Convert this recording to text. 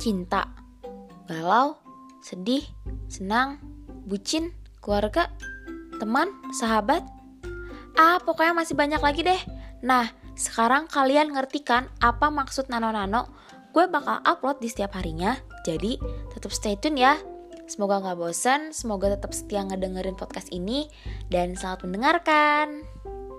cinta, galau, sedih, senang, bucin, keluarga, teman, sahabat. Pokoknya masih banyak lagi deh. Nah, sekarang kalian ngerti kan apa maksud nano-nano? Gue bakal upload di setiap harinya, jadi tetap stay tune ya. Semoga gak bosan, semoga tetap setia ngedengerin podcast ini, dan selamat mendengarkan.